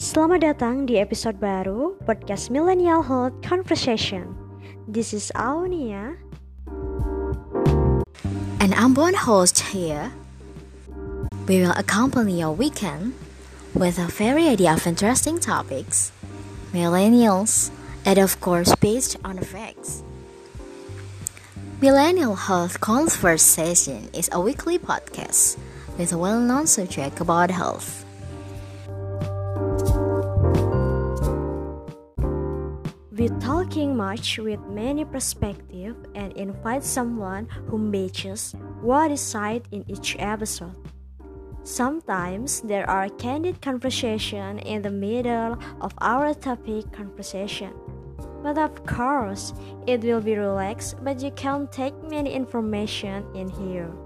Selamat datang di episode baru podcast Millennial Health Conversation. This is Aunia. And I'm one host here. We will accompany your weekend with a variety of interesting topics, millennials, and of course based on facts. Millennial Health Conversation is a weekly podcast with a well-known subject about health. We talking much with many perspectives and invite someone who matches what is said in each episode. Sometimes there are candid conversation in the middle of our topic conversation. But of course, it will be relaxed, but you can take many information in here.